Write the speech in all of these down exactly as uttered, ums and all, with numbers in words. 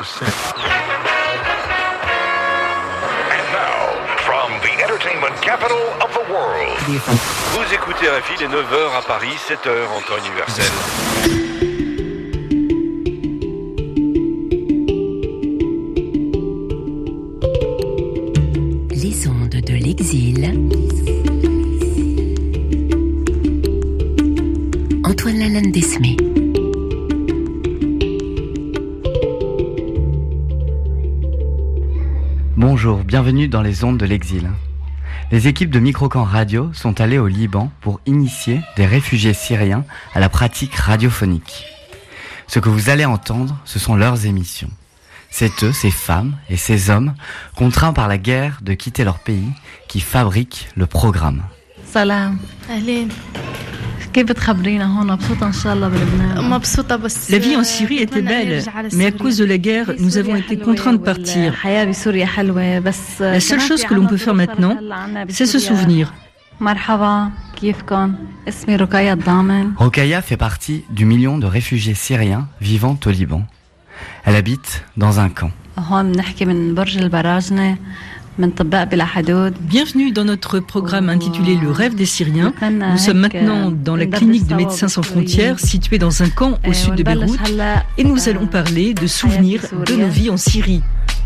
percent. And now, from the entertainment capital of the world. Vous écoutez R F I, il est neuf heures à Paris, sept heures en temps universel. Les ondes de l'exil. Antoine Lalande-Desmé. Bonjour, bienvenue dans les ondes de l'exil. Les équipes de Microcamp Radio sont allées au Liban pour initier des réfugiés syriens à la pratique radiophonique. Ce que vous allez entendre, ce sont leurs émissions. C'est eux, ces femmes et ces hommes, contraints par la guerre de quitter leur pays, qui fabriquent le programme. Salam. Ahlin. La vie en Syrie était belle, mais à cause de la guerre, nous avons été contraints de partir. La seule chose que l'on peut faire maintenant, c'est se souvenir. Rokhaya fait partie du million de réfugiés syriens vivant au Liban. Elle habite dans un camp. Bienvenue dans notre programme intitulé Le rêve des Syriens. Nous sommes maintenant dans la clinique de Médecins sans frontières située dans un camp au sud de Beyrouth et nous allons parler de souvenirs de nos vies en Syrie.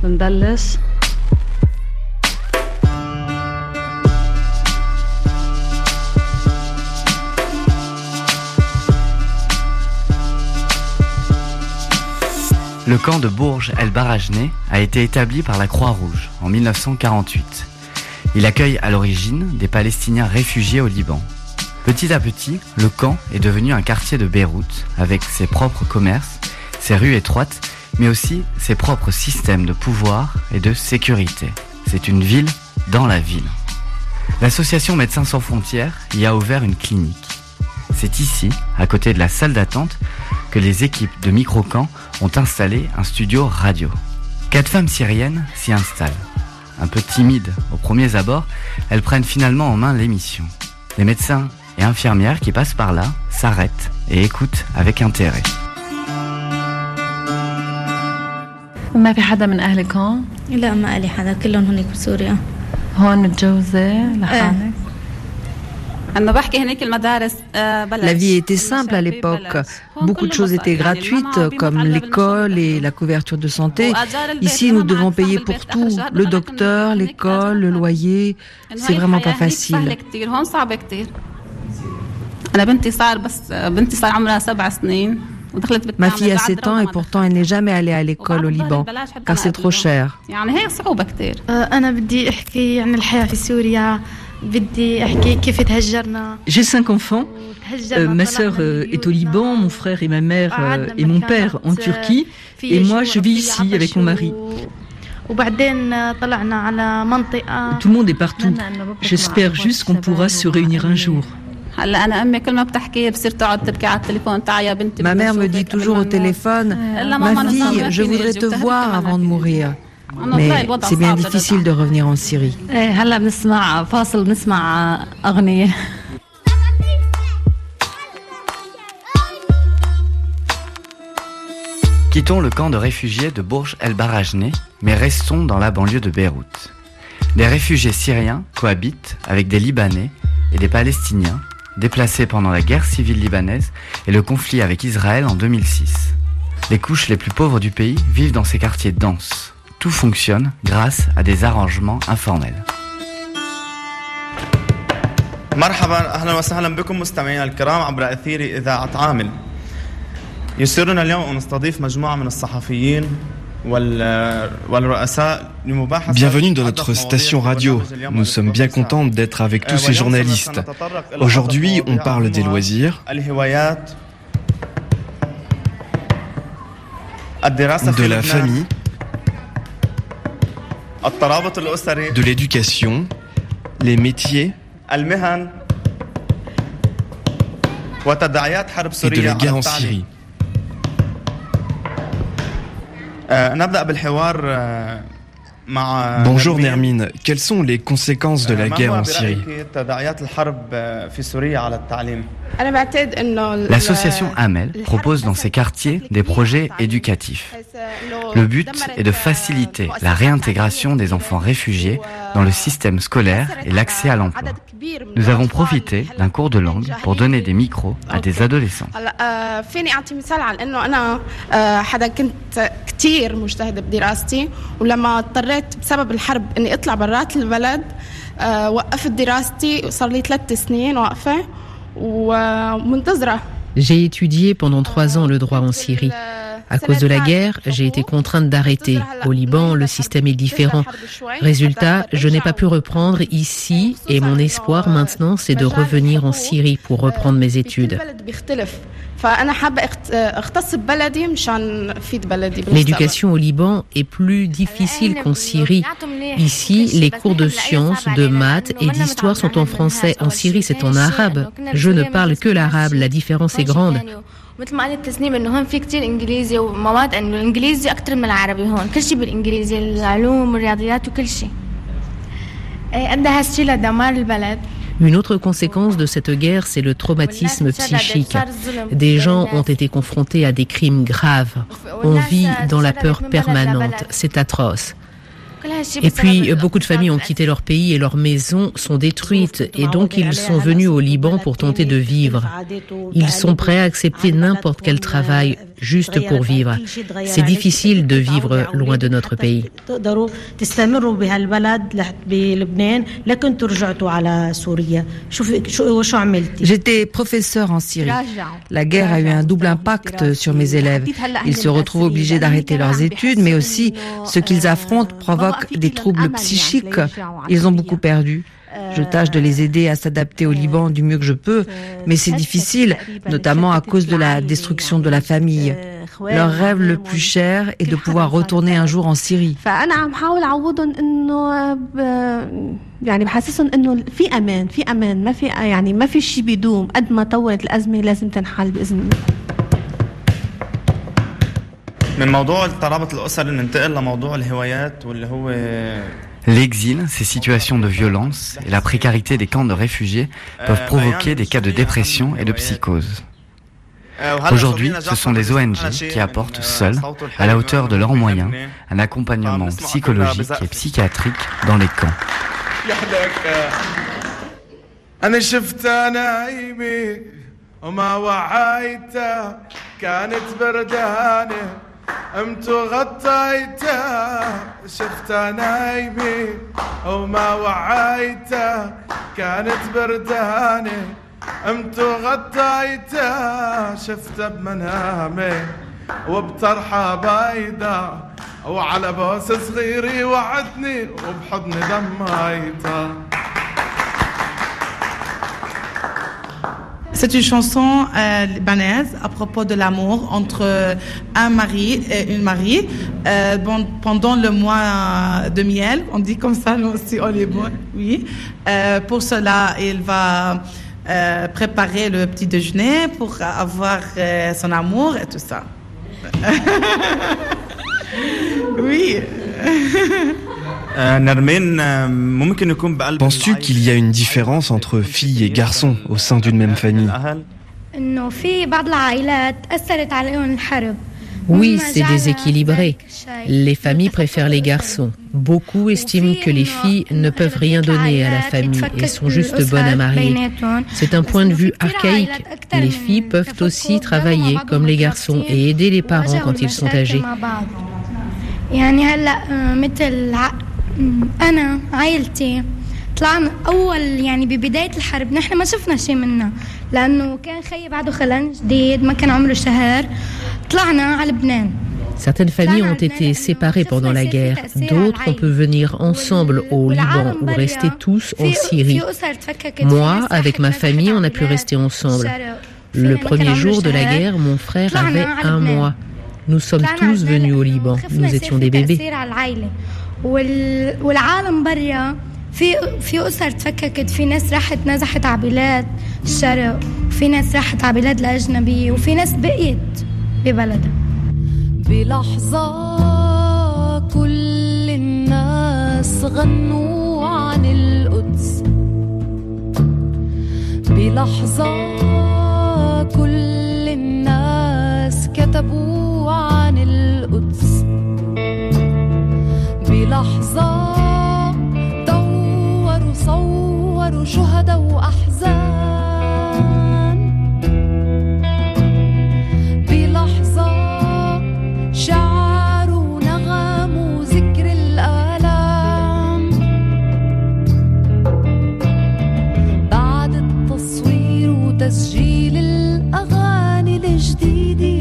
Le camp de Bourj el-Barajneh a été établi par la Croix-Rouge en mille neuf cent quarante-huit. Il accueille à l'origine des Palestiniens réfugiés au Liban. Petit à petit, le camp est devenu un quartier de Beyrouth avec ses propres commerces, ses rues étroites, mais aussi ses propres systèmes de pouvoir et de sécurité. C'est une ville dans la ville. L'association Médecins sans frontières y a ouvert une clinique. C'est ici, à côté de la salle d'attente, que les équipes de Microcamp ont installé un studio radio. Quatre femmes syriennes s'y installent. Un peu timides aux premiers abords, elles prennent finalement en main l'émission. Les médecins et infirmières qui passent par là s'arrêtent et écoutent avec intérêt. ما في حدا من أهلك هون؟ لا ما لي حدا كلهم هناك بسوريا. هون متجوزة لحالك؟ La vie était simple à l'époque. Beaucoup de choses étaient gratuites, comme l'école et la couverture de santé. Ici, nous devons payer pour tout. Le docteur, l'école, le loyer. C'est vraiment pas facile. Ma fille a sept ans et pourtant elle n'est jamais allée à l'école au Liban, car c'est trop cher. J'ai cinq enfants. Euh, ma sœur euh, est au Liban, mon frère et ma mère euh, et mon père en Turquie. Et moi, je vis ici avec mon mari. Tout le monde est partout. J'espère juste qu'on pourra se réunir un jour. Ma mère me dit toujours au téléphone, ma fille, je voudrais te voir avant de mourir. Mais c'est bien difficile de revenir en Syrie. Quittons le camp de réfugiés de Bourj el-Barajneh, mais restons dans la banlieue de Beyrouth. Des réfugiés syriens cohabitent avec des Libanais et des Palestiniens déplacés pendant la guerre civile libanaise et le conflit avec Israël en deux mille six. Les couches les plus pauvres du pays vivent dans ces quartiers denses. Tout fonctionne grâce à des arrangements informels. مرحبا اهلا وسهلا بكم مستمعينا الكرام عبر اثير اذاعه عامل. يسرنا اليوم ان نستضيف مجموعه من الصحفيين Bienvenue dans notre station radio. Nous sommes bien contents d'être avec tous ces journalistes. Aujourd'hui, on parle des loisirs, de la famille, de l'éducation, les métiers et de la guerre en Syrie. Bonjour Nermine, quelles sont les conséquences de la guerre en Syrie? L'association Amel propose dans ses quartiers des projets éducatifs. Le but est de faciliter la réintégration des enfants réfugiés dans le système scolaire et l'accès à l'emploi. Nous avons profité d'un cours de langue pour donner des micros à des adolescents. بسبب الحرب اني اطلع برات البلد وقفت دراستي وصار لي ثلاث سنين واقفه ومنتظره. J'ai étudié pendant trois ans le droit en Syrie. À cause de la guerre, j'ai été contrainte d'arrêter. Au Liban, le système est différent. Résultat, je n'ai pas pu reprendre ici et mon espoir maintenant, c'est de revenir en Syrie pour reprendre mes études. L'éducation au Liban est plus difficile qu'en Syrie. Ici, les cours de sciences, de maths et d'histoire sont en français. En Syrie, c'est en arabe. Je ne parle que l'arabe. La différence est grande. مثل ما قالت تسنيم انه هون في كتير انجليزي ومواد انه الانجليزي اكثر من العربي هون كل شيء بالانجليزي العلوم والرياضيات وكل شيء ادى هالشيء لدمار البلد. Une autre conséquence de cette guerre, c'est le traumatisme psychique. Des gens ont été confrontés à des crimes graves. On vit dans la peur permanente. C'est atroce. Et puis, beaucoup de familles ont quitté leur pays et leurs maisons sont détruites. Et donc, ils sont venus au Liban pour tenter de vivre. Ils sont prêts à accepter n'importe quel travail juste pour vivre. C'est difficile de vivre loin de notre pays. J'étais professeur en Syrie. La guerre a eu un double impact sur mes élèves. Ils se retrouvent obligés d'arrêter leurs études, mais aussi ce qu'ils affrontent provoque des troubles psychiques. Ils ont beaucoup perdu. Je tâche de les aider à s'adapter au Liban du mieux que je peux, mais c'est difficile, notamment à cause de la destruction de la famille. Leur rêve le plus cher est de pouvoir retourner un jour en Syrie. يعني بحسسهم انه في امان في امان ما في يعني ما في شيء بيدوم قد ما طولت الازمه لازم تنحل باذن الله. من موضوع الترابط الاسري ننتقل لموضوع الهوايات واللي هو L'exil, ces situations de violence et la précarité des camps de réfugiés peuvent provoquer des cas de dépression et de psychose. Aujourd'hui, ce sont les O N G qui apportent seuls, à la hauteur de leurs moyens, un accompagnement psychologique et psychiatrique dans les camps. قمت وغطيته شفت نايمي وما وعيته كانت برداني قمت وغطيته شفته بمنامي وبطرحه بيضة وعلى بوس صغيري وعدني وبحضني دميته. C'est une chanson euh, libanaise à propos de l'amour entre un mari et une mariée. Euh, bon, pendant le mois de miel, on dit comme ça, nous aussi, on est bon, oui. Euh, pour cela, il va euh, préparer le petit déjeuner pour avoir euh, son amour et tout ça. Oui. Penses-tu qu'il y a une différence entre filles et garçons au sein d'une même famille? Oui, c'est déséquilibré. Les familles préfèrent les garçons. Beaucoup estiment que les filles ne peuvent rien donner à la famille et sont juste bonnes à marier. C'est un point de vue archaïque. Les filles peuvent aussi travailler comme les garçons et aider les parents quand ils sont âgés. أنا عائلتي طلعنا أول يعني ببداية الحرب نحن ما شفنا شيء منها لأنه كان خيي بعده خلان جديد ما كان عمره شهر طلعنا على لبنان. Certaines familles ont été séparées pendant la guerre. D'autres ont pu venir ensemble au Liban ou rester tous en Syrie. Moi, avec ma famille, on a pu rester ensemble. Le premier jour de la guerre, mon frère avait un mois. Nous sommes tous venus au Liban. Nous étions des bébés. والعالم برا في في أسر تفككت في ناس راحت نزحت على بلاد الشرق وفي ناس راحت على بلاد الأجنبية وفي ناس بقيت ببلدها. بلحظة كل الناس القدس غنوا عن القدس بلحظة كل الناس كتبوا عن القدس بلحظة دوروا صوروا شهداء وأحزان بلحظة شعروا نغموا ذكر الآلام بعد التصوير وتسجيل الأغاني الجديدة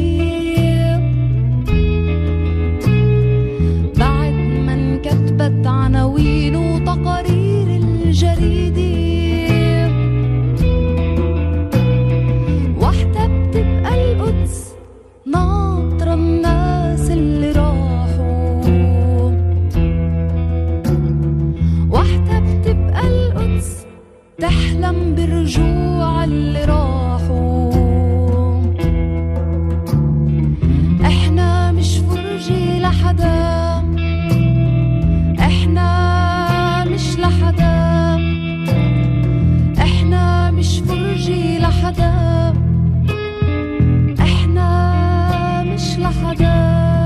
بعد ما انكتبت عناوين وتقارير الجريدة وحدة بتبقى القدس ناطرة الناس اللي راحوا وحدة بتبقى القدس تحلم برجوع اللي راحوا احنا مش فرجي لحدا احنا مش لحدا احنا مش فرجي لحدا احنا مش لحدا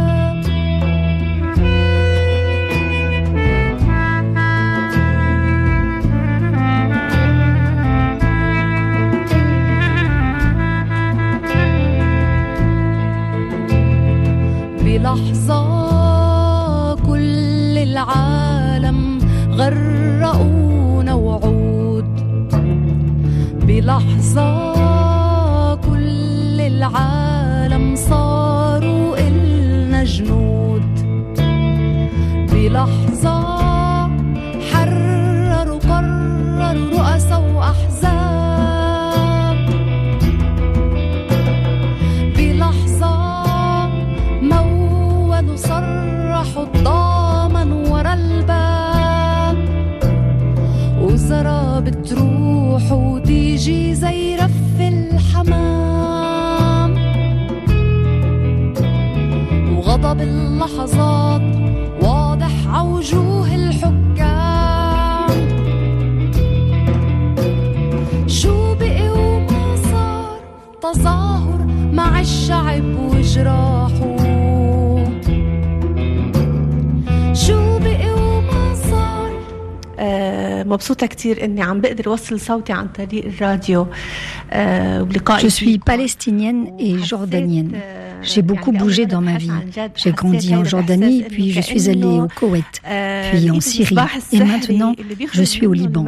بلحظة كل العالم غرقونا وعود بلحظة كل العالم صاروا إلنا جنود بلحظة حرروا قرروا رؤساء وأحزاب بلحظة مولوا صرحوا الضامن ورا الباب وزرا بتروح وتيجي زي رف الحمام وغضب اللحظات واضح عوجوه الحكام شو بقي وما صار تظاهر مع الشعب وجراحه شو بقي وما صار. مبسوطة كتير إني عم بقدر أوصل صوتي عن طريق الراديو وبلقائي. Je suis palestinienne et jordanienne. J'ai beaucoup bougé dans ma vie. J'ai grandi en Jordanie, puis je suis allée au Koweït, puis en Syrie, et maintenant je suis au Liban.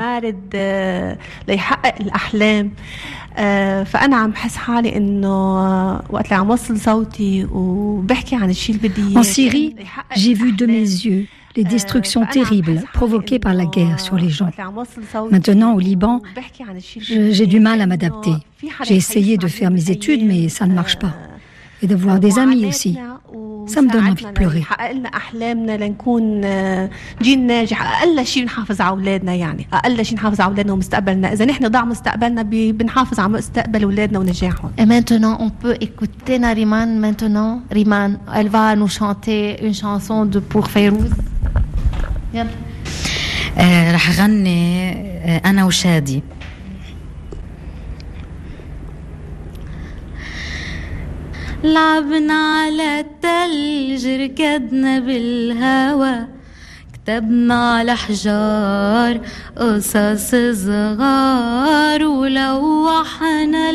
فأنا عم بحس حالي إنه وقت اللي عم وصل صوتي وبحكي عن الشيء اللي بدي. En Syrie, j'ai vu de mes yeux les destructions terribles provoquées par la guerre sur les gens. Maintenant, au Liban, je, j'ai du mal à m'adapter. J'ai essayé de faire mes études, mais ça ne marche pas. Et de voir des amis aussi. Ça me donne envie de pleurer. حققنا أحلامنا لنكون جيل ناجح. أقل شيء نحافظ على أولادنا يعني. أقل شيء نحافظ على أولادنا ومستقبلنا. إذا نحن ضاع مستقبلنا بنحافظ على مستقبل أولادنا ونجاحهم. Et maintenant, on peut écouter Nariman maintenant. Riman, elle va nous chanter une chanson de pour Fayrouz. يلا. رح أغني أنا وشادي. لعبنا على التلج ركضنا بالهوا كتبنا على حجار قصص صغار ولوحنا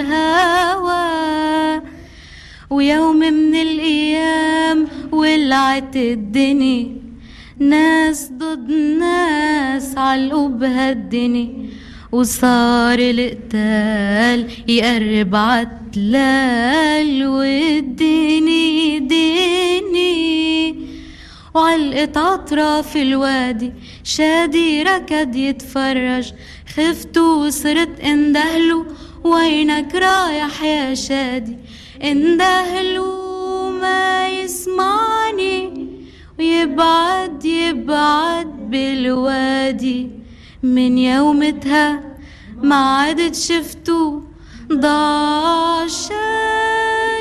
الهوا ويوم من الأيام ولعت الدنيا ناس ضد ناس علقوا بهالدنيا وصار القتال يقرب عتلال والدني ديني وعلقت أطراف الوادي شادي ركض يتفرج خفت وصرت اندهلو وينك رايح يا شادي اندهلو ما يسمعني ويبعد يبعد بالوادي من يومتها ما عدت شفتو ضاع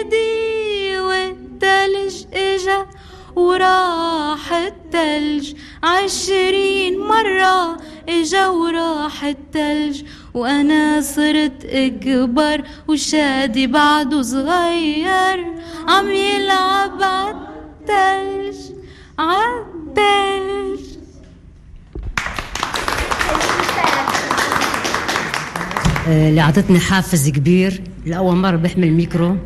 شادي والتلج اجا وراح التلج عشرين مرة اجا وراح التلج وانا صرت اكبر وشادي بعده صغير عم يلعب عالتلج عالتلج. اللي عطتني حافز كبير لأول مرة بحمل ميكرو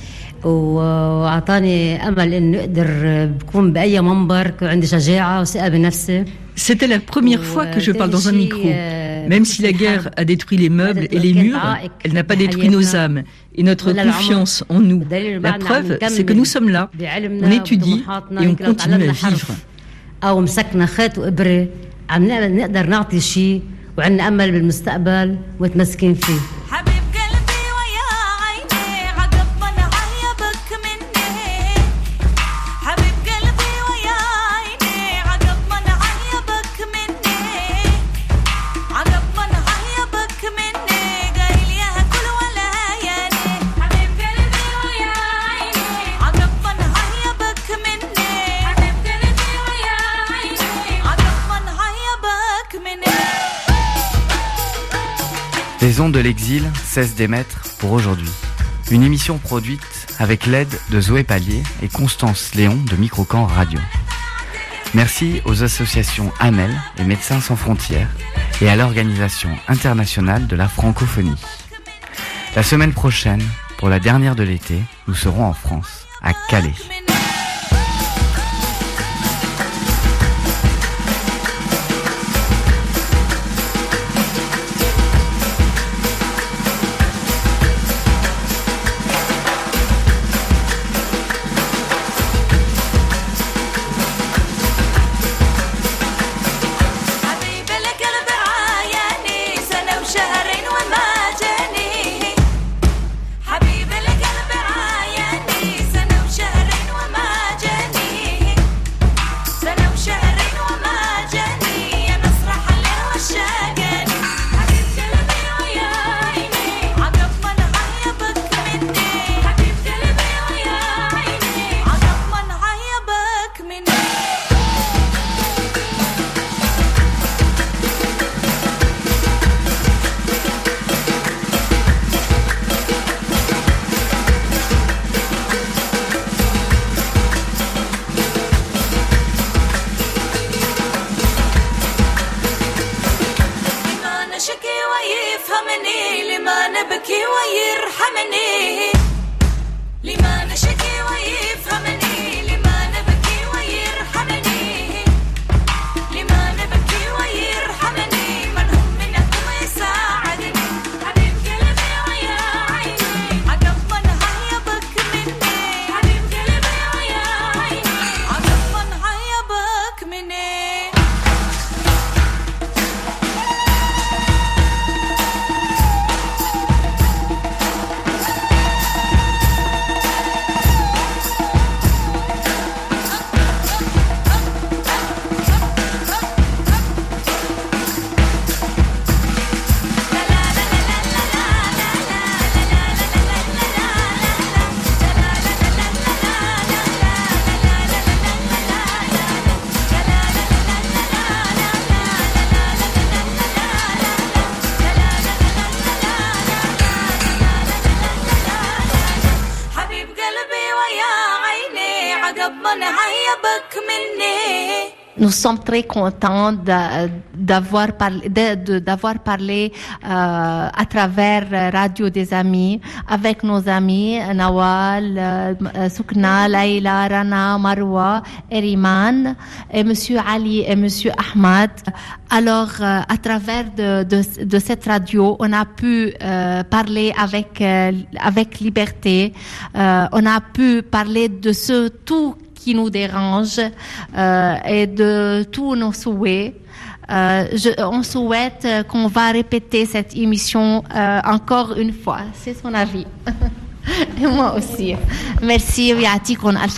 وعطاني أمل إنه أقدر بكون بأي منبر عندي شجاعة وثقة بنفسي. C'était la première fois que je parle dans un micro. Même si la guerre a détruit les meubles et les murs, elle n'a pas détruit nos âmes et notre confiance en nous. La preuve, c'est que nous sommes là, on étudie et on continue à vivre. أو مسكنا خيط وإبرة عم نقدر نعطي شيء وعندنا أمل بالمستقبل ومتمسكين فيه. Les ondes de l'exil cessent d'émettre pour aujourd'hui. Une émission produite avec l'aide de Zoé Pallier et Constance Léon de Microcamp Radio. Merci aux associations AMEL et Médecins sans frontières et à l'Organisation internationale de la francophonie. La semaine prochaine, pour la dernière de l'été, nous serons en France, à Calais. Nous sommes très contents de, d'avoir parlé, de, de, d'avoir parlé euh, à travers Radio des Amis avec nos amis Nawal, euh, Soukna, Laïla, Rana, Marwa, Eriman et Monsieur Ali et Monsieur Ahmad. Alors, euh, à travers de, de, de cette radio, on a pu euh, parler avec, euh, avec liberté. Euh, on a pu parler de ce tout qui nous dérange euh, et de tous nos souhaits. Euh, je, on souhaite qu'on va répéter cette émission euh, encore une fois. C'est son avis. Et moi aussi. Merci.